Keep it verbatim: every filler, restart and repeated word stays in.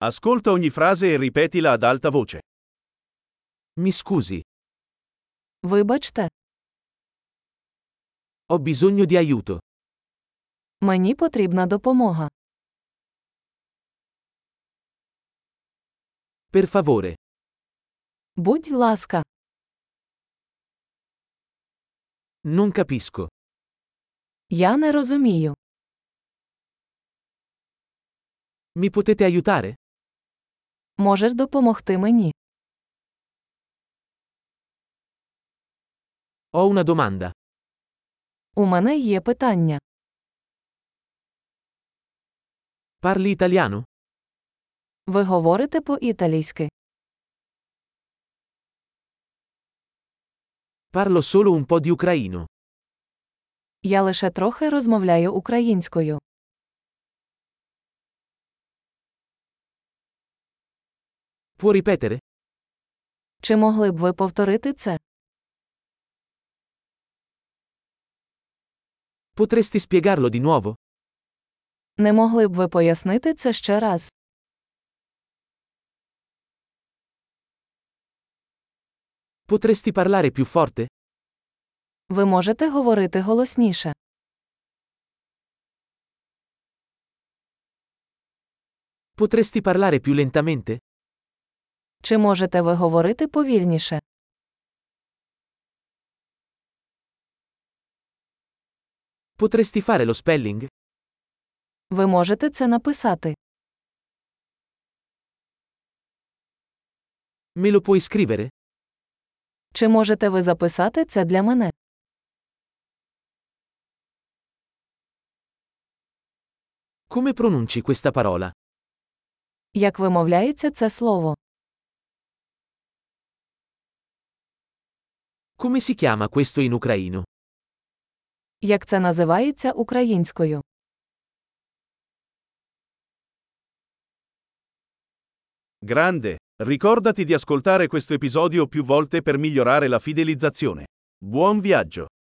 Ascolta ogni frase e ripetila ad alta voce. Mi scusi, Вибачте, ho bisogno di aiuto. мені потрібна допомога. Per favore, Будь ласка, non capisco. я не розумію. Mi potete aiutare? Можеш допомогти мені? Ho una domanda. У мене є питання. Parli italiano? Ви говорите по-італійськи? Parlo solo un po' di ucraino. Я лише трохи розмовляю українською. Può ripetere? Чи могли б ви повторити це? Potresti spiegarlo di nuovo? Не могли б ви пояснити це ще раз? Potresti parlare più forte? Ви можете говорити голосніше. Potresti parlare più lentamente? Чи можете ви говорити повільніше? Potresti fare lo spelling? Ви можете це написати. Me lo puoi scrivere? Чи можете ви записати це для мене? Come pronunci questa parola? Як вимовляється це слово? Come si chiama questo in ucraino? Як це називається українською? Grande, ricordati di ascoltare questo episodio più volte per migliorare la fidelizzazione. Buon viaggio!